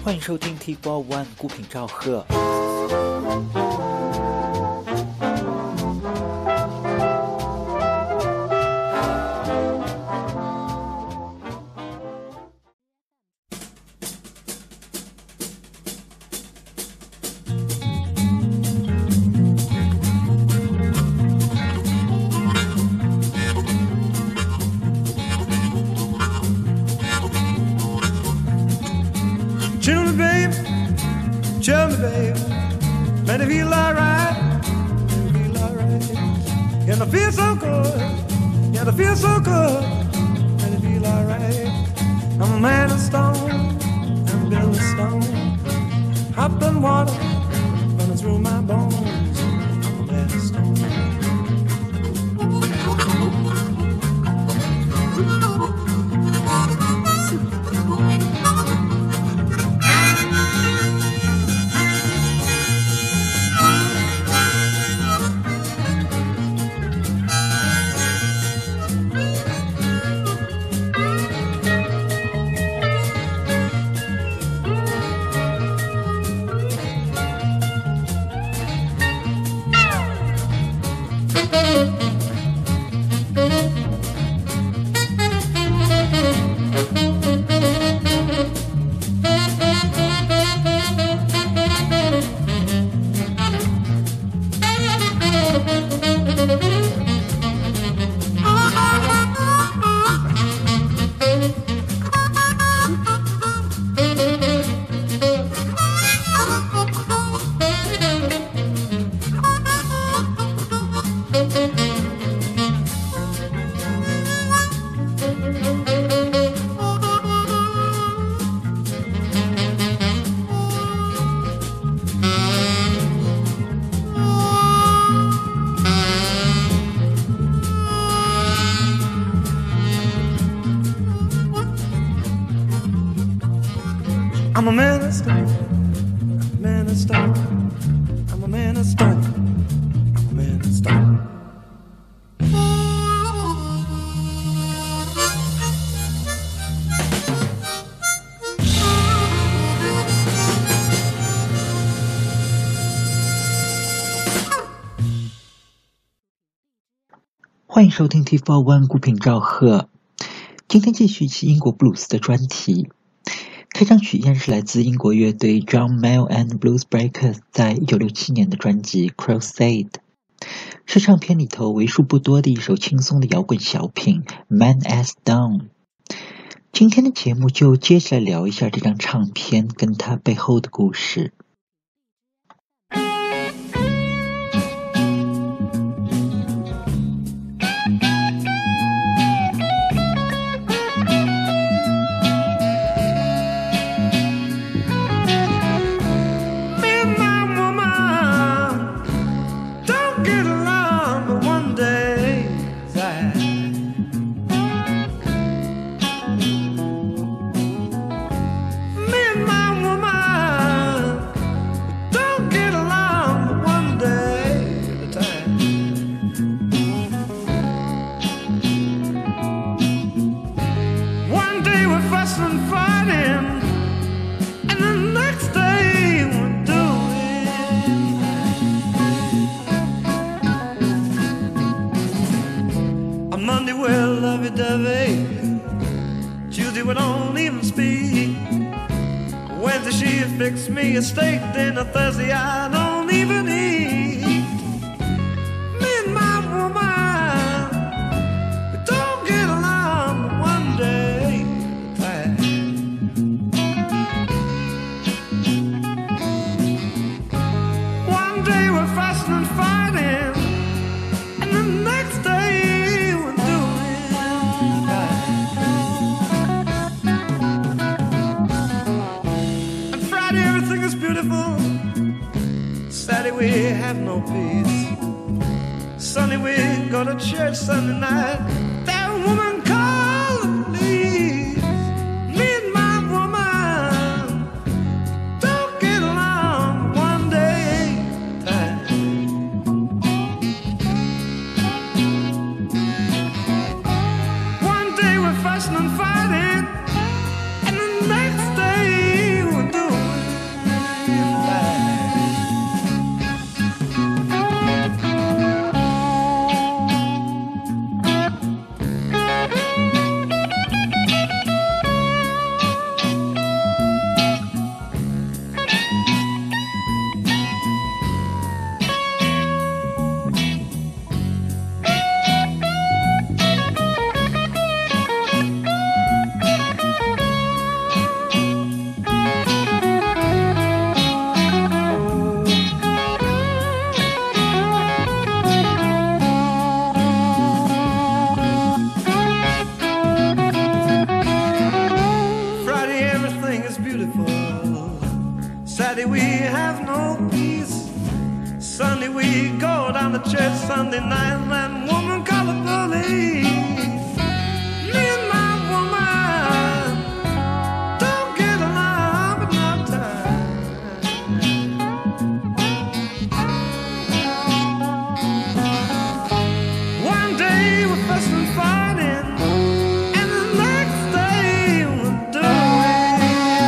欢迎收听 T4One 孤品赵贺。 Tell me, babe, man, I feel alright, and I feel so good, yeah, I feel so good, and I feel alright. I'm a man of stone, I'm built of stone, hop and water running through my bones. I'm a man of stone. I'm a man of stone, man of stone. I'm a man of stone, I'm a man of stone. 欢迎收听 T4One 孤品赵贺。今天继续一期英国布鲁斯的专题。开场曲依然是来自英国乐队 John Mayall and Blues Breakers 在1967年的专辑 Crusade， 是唱片里头为数不多的一首轻松的摇滚小品 Man as Stone。 今天的节目就接着来聊一下这张唱片跟它背后的故事。 Tuesday we don't even speak. Wednesday she fixed me a steak dinner. Thursday I don't even eat. Me and my woman, we don't get along but one day at a time. One day we're fussing and fighting, and the next day we're doing right. And Friday everything is beautiful. Saturday we have no peace. Sunday we go to church. Sunday night that woman called the police. Me and my woman don't get along one day at a time. One day we're fussing and fighting, and the next day we're doing tore down the church Sunday night, and that woman called the police. Me and my woman don't get along but no time. One day we're fussing and fighting, and the next day we're doing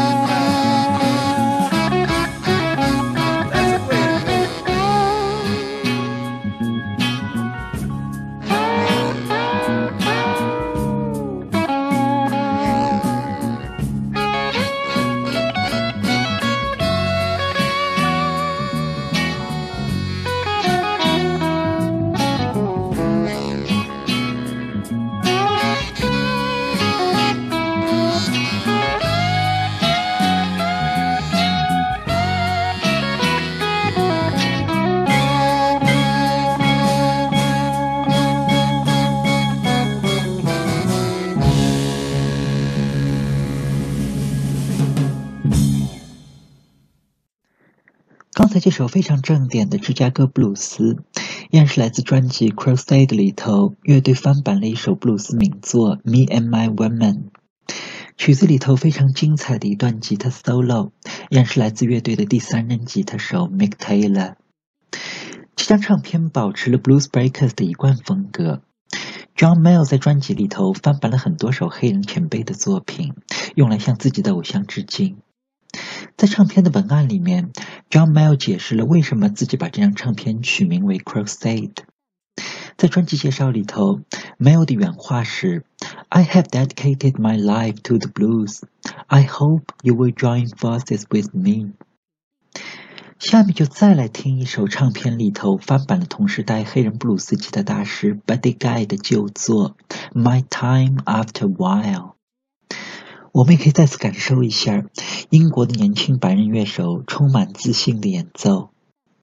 right. That's the way it goes. 刚才这首非常正点的芝加哥布鲁斯，依然是来自专辑《Crusade》里头乐队翻版了一首布鲁斯名作《Me and My Woman》。曲子里头非常精彩的一段吉他 solo， 依然是来自乐队的第三任吉他手 Mick Taylor。这张唱片保持了 Blues Breakers 的一贯风格。John Mayall 在专辑里头翻版了很多首黑人前辈的作品，用来向自己的偶像致敬。在唱片的文案里面 John Mayall 解释了为什么自己把这张唱片取名为 Crusade。 在专辑介绍里头 Mayall 的原话是 I have dedicated my life to the blues. I hope you will join forces with me. 下面就再来听一首唱片里头翻版了同时代黑人布鲁斯吉他大师 Buddy Guy 的旧作 My Time After While。我们也可以再次感受一下英国的年轻白人乐手充满自信的演奏。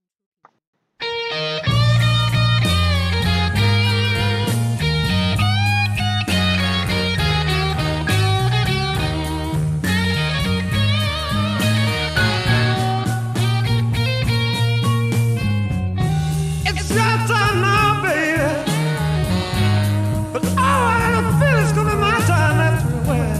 It's your time now, baby. But oh, I feel it's gonna be my time after a while.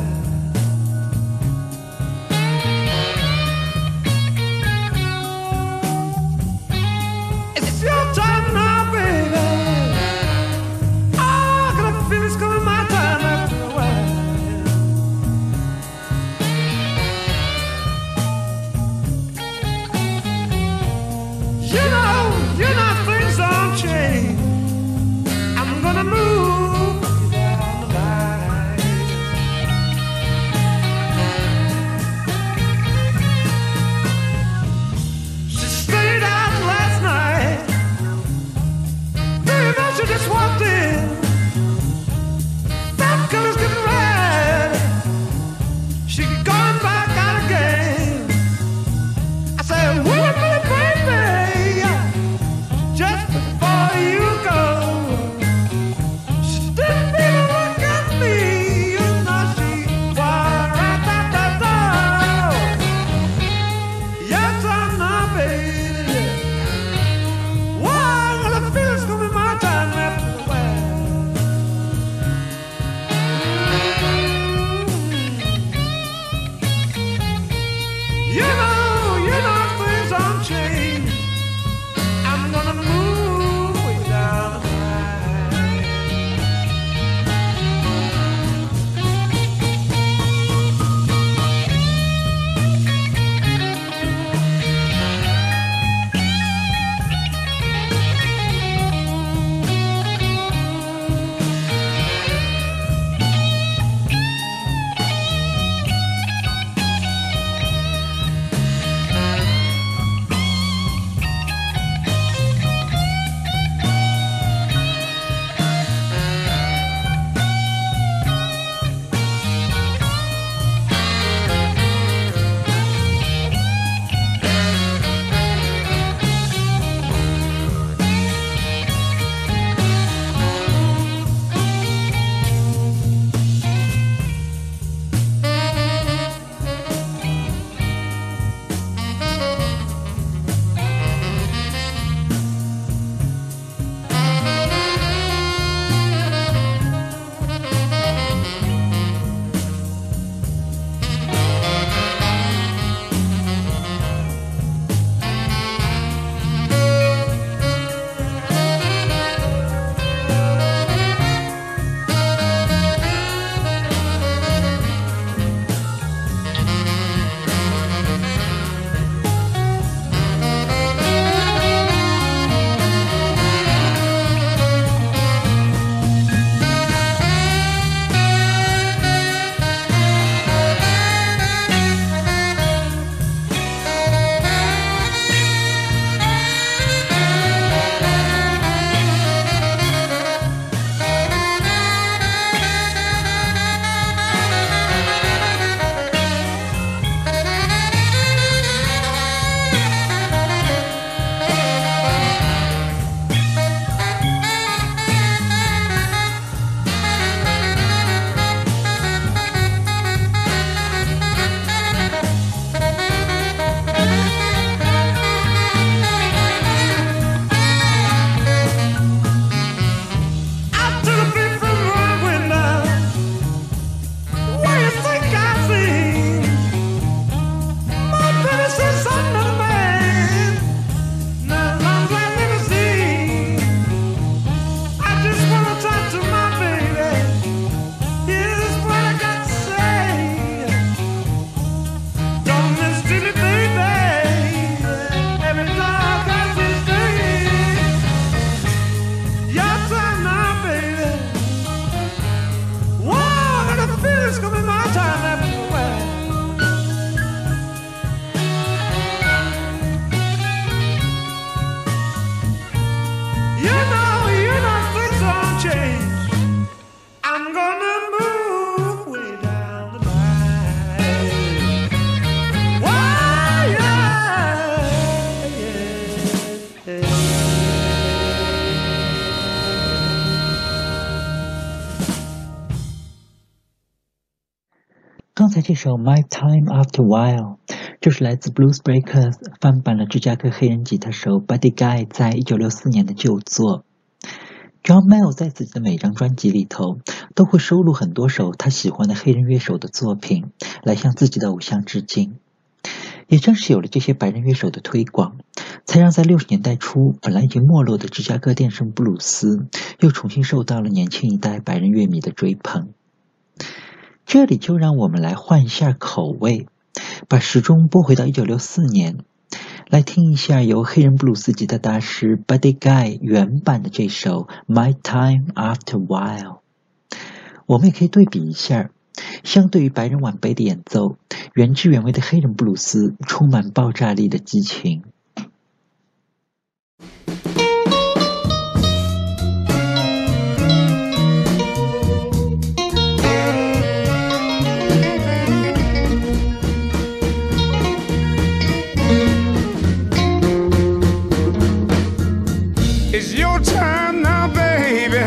刚才这首 My Time After While 就是来自 Blues Breakers 翻版了芝加哥黑人吉他手 Buddy Guy 在1964年的旧作。John Mayall 在自己的每张专辑里头都会收录很多首他喜欢的黑人乐手的作品，来向自己的偶像致敬。也正是有了这些白人乐手的推广，才让在60年代初本来已经没落的芝加哥电声布鲁斯又重新受到了年轻一代白人乐迷的追捧。这里就让我们来换一下口味，把时钟拨回到1964年，来听一下由黑人布鲁斯吉他大师 Buddy Guy 原版的这首 My Time After While。 我们也可以对比一下，相对于白人晚辈的演奏，原汁原味的黑人布鲁斯充满爆炸力的激情。 It's your time now, baby.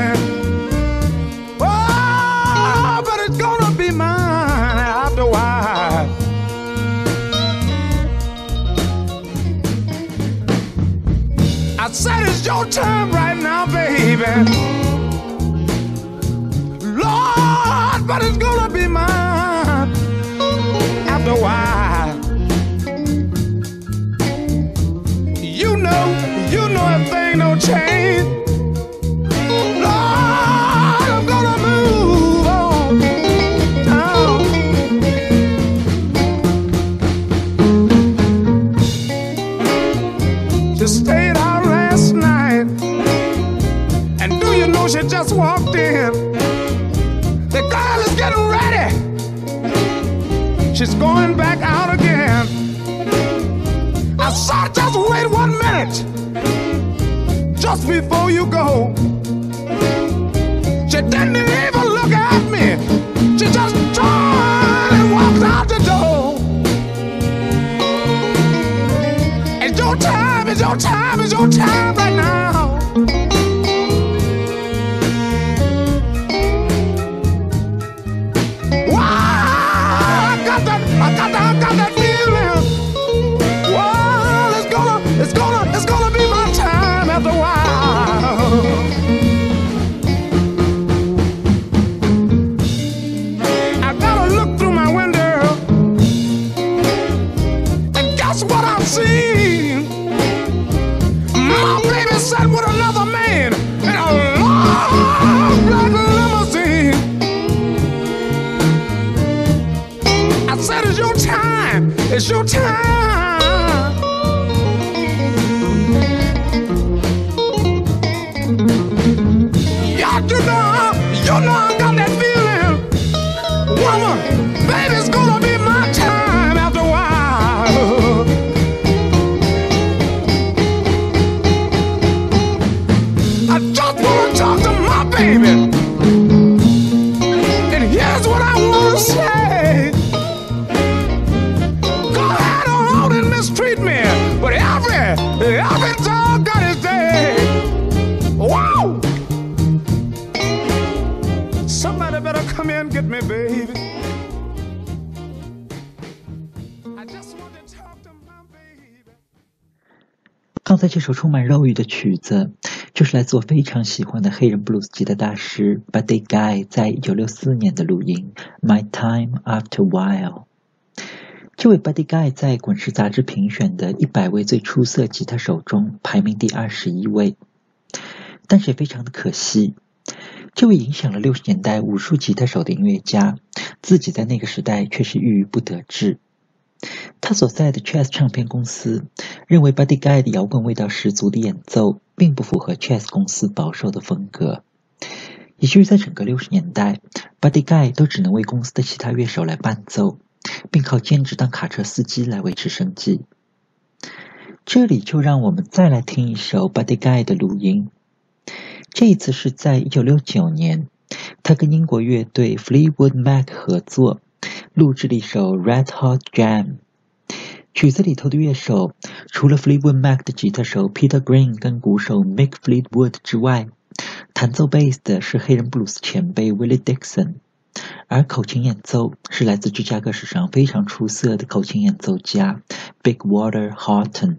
Oh, but it's gonna be mine after a while. I said it's your time right now, baby. Lord, but it's gonna be mine after a while. You know if things don't change, Lord, I'm gonna move on down. Just stayed out last night, and do you know she just walked in? The girl is getting ready. She's going back out again. I said, just wait 1 minute, just before you go. She didn't even look at me. She just turned and walked out the door. It's your time, it's your time, it's your time right now. Wow, I got that feeling. Well, it's gonna be my time after a while. I gotta look through my window, and guess what I see? My baby sat with another man in a long black limousine. I said, it's your time, it's your time. You know I got that feeling. Woman, baby, it's gonna be my time after a while. I just wanna talk to my baby, and here's what I wanna say. Go ahead on and mistreat me, but every dog got his day. Wow! Somebody better come here and get me, baby. I just want to talk to my baby. 刚才这首充满肉欲的曲子，就是来自我非常喜欢的黑人布鲁斯吉他大师 Buddy Guy 在1964年的录音 My Time After While。 这位 Buddy Guy 在滚石杂志评选的100位最出色吉他手中排名第21位，但是也非常的可惜，这位影响了60年代无数吉他手的音乐家，自己在那个时代却是郁郁不得志。他所在的 Chess 唱片公司认为 Buddy Guy 的摇滚味道十足的演奏并不符合 Chess 公司保守的风格，以至于在整个60年代 Buddy Guy 都只能为公司的其他乐手来伴奏，并靠兼职当卡车司机来维持生计。这里就让我们再来听一首 Buddy Guy 的录音，这一次是在1969年，他跟英国乐队 Fleetwood Mac 合作录制了一首 Red Hot Jam。 曲子里头的乐手除了 Fleetwood Mac 的吉他手 Peter Green 跟鼓手 Mick Fleetwood 之外，弹奏贝斯的是黑人布鲁斯前辈 Willie Dixon。 而口琴演奏是来自芝加哥史上非常出色的口琴演奏家 Big Walter Horton。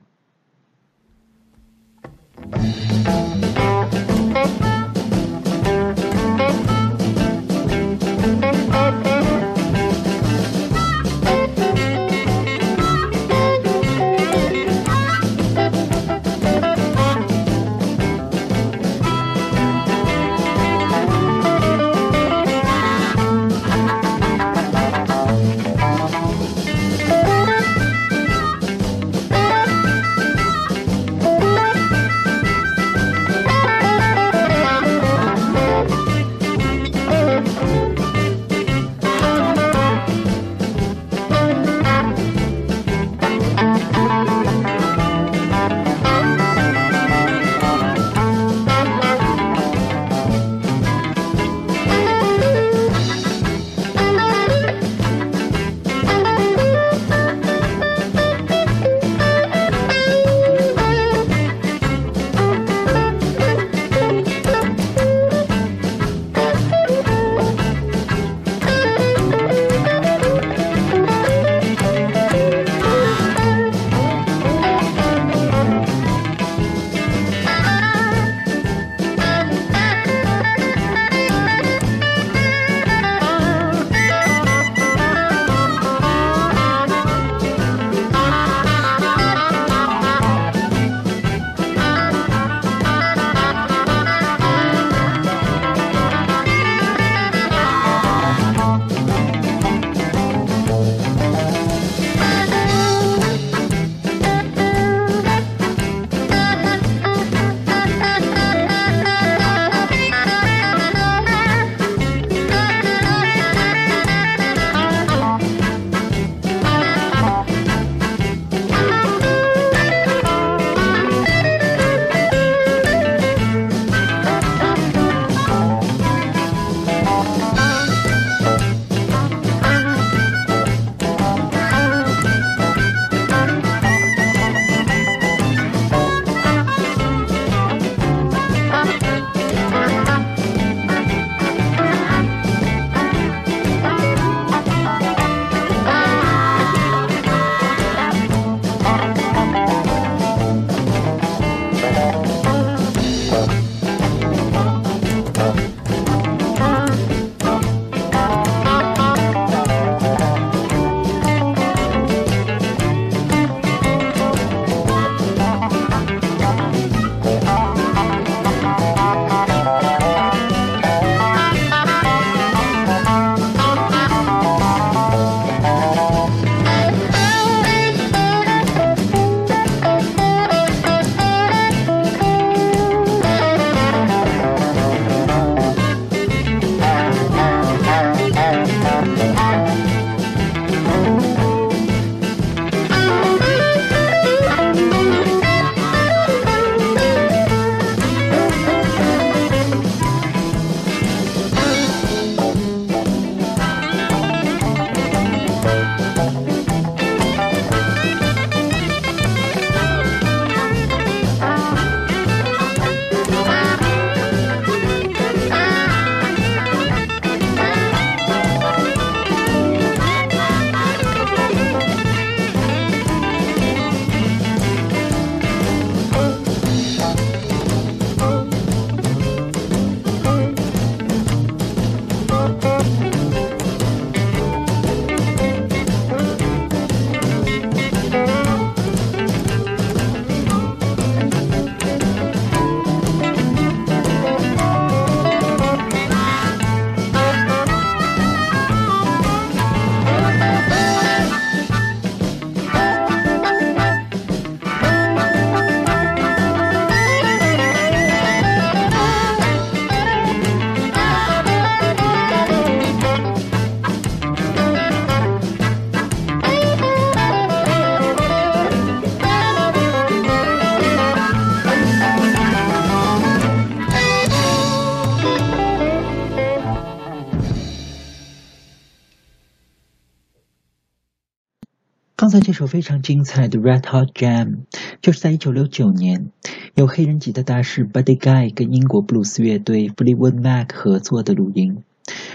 刚才这首非常精彩的 Red Hot Jam 就是在1969年由黑人吉他大师 Buddy Guy 跟英国布鲁斯乐队 Fleetwood Mac 合作的录音。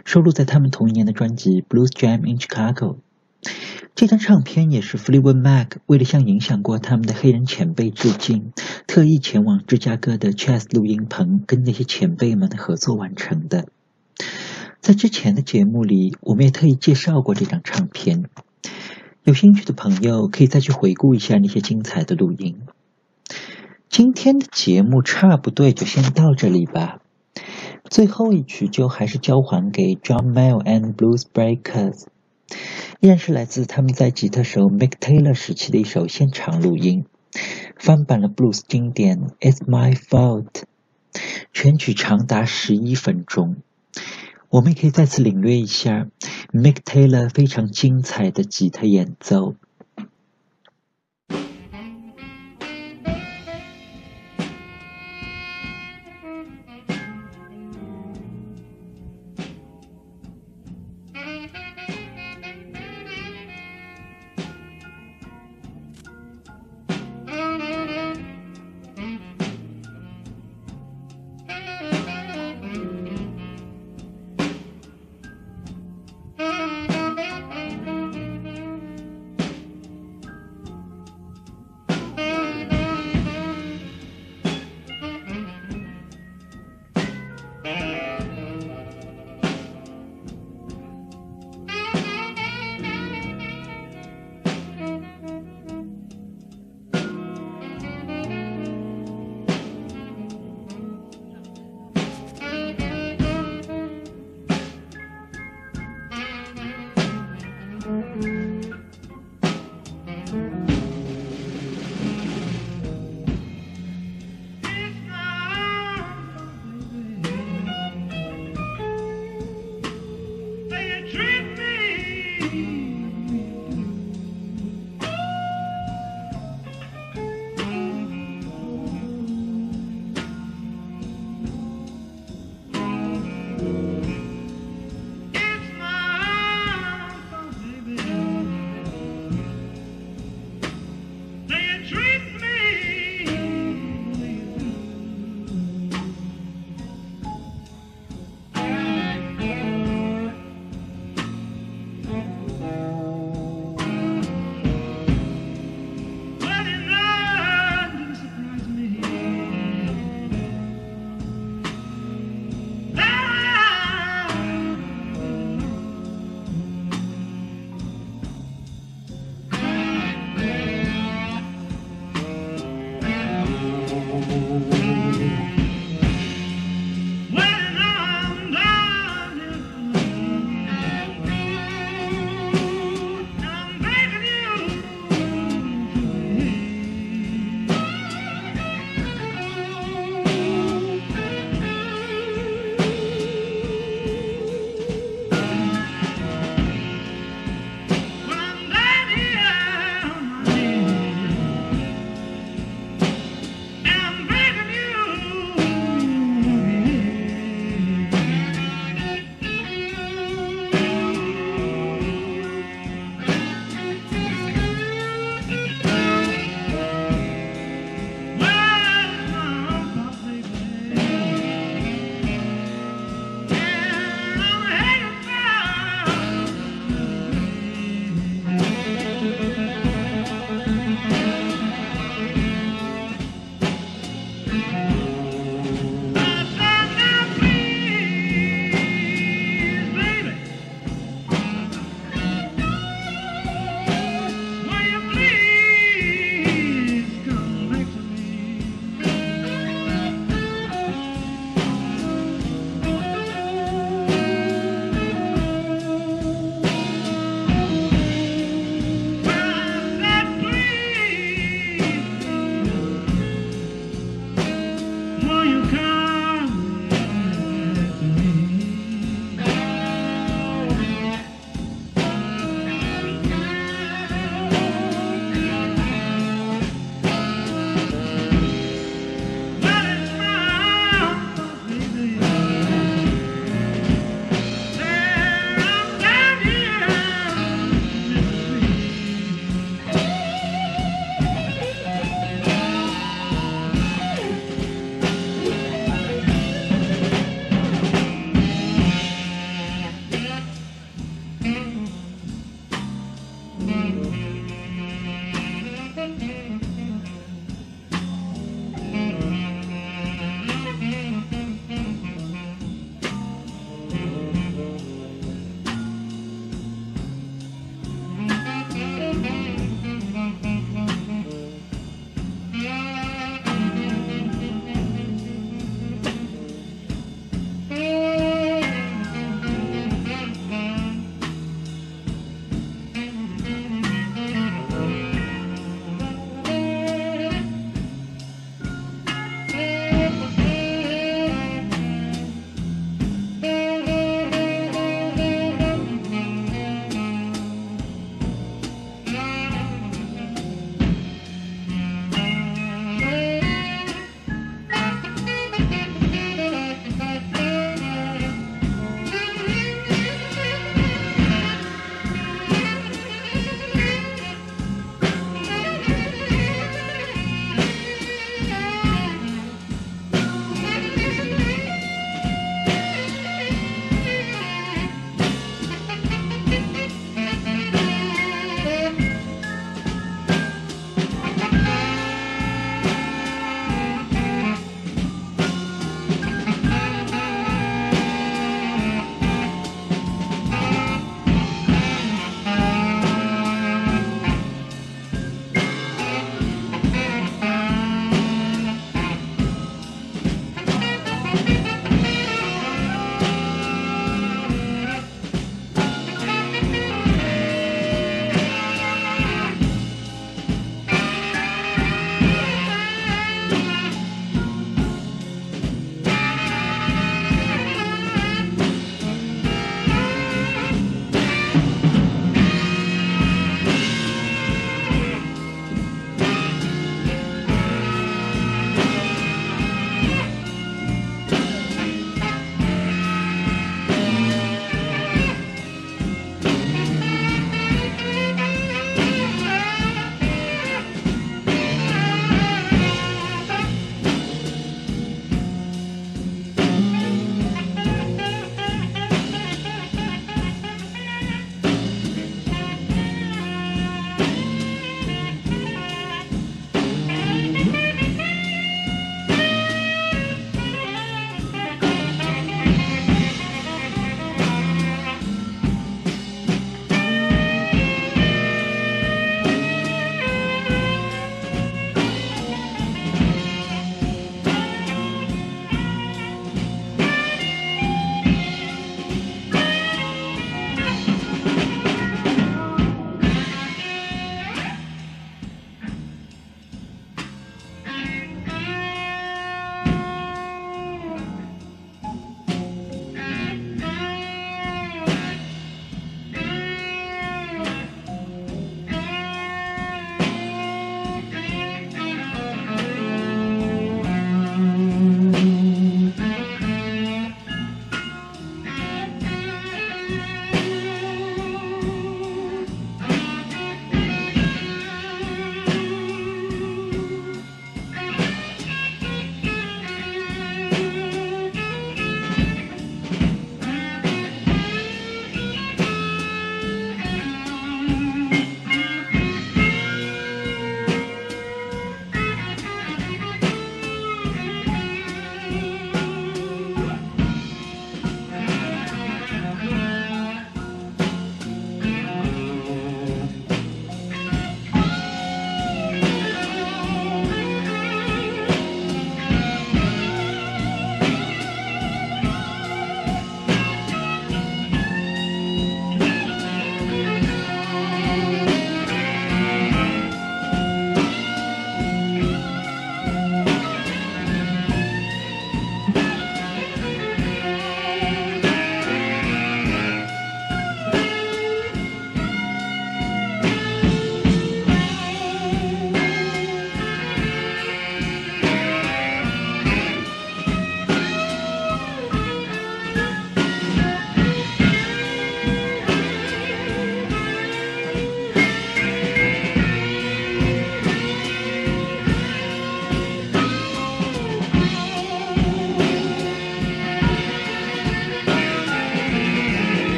收录在他们同一年的专辑《Blues Jam in Chicago》。这张唱片也是 Fleetwood Mac 为了向影响过他们的黑人前辈致敬，特意前往芝加哥的 Chess 录音棚跟那些前辈们合作完成的。在之前的节目里，我们也特意介绍过这张唱片，有兴趣的朋友可以再去回顾一下那些精彩的录音。今天的节目差不多也就先到这里吧。最后一曲就还是交还给 John Mayall and Blues Breakers， 依然是来自他们在吉他手 Mick Taylor 时期的一首现场录音，翻版了 blues 经典 It's My Fault， 全曲长达11分钟。我们也可以再次领略一下 Mick Taylor 非常精彩的吉他演奏。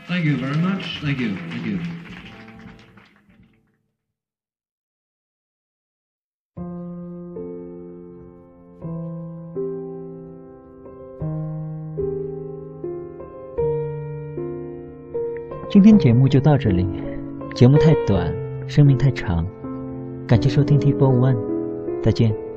Thank you very much. Thank you. Thank you. 今天节目就到这里，节目太短，生命太长，感谢收听 T4One，再见。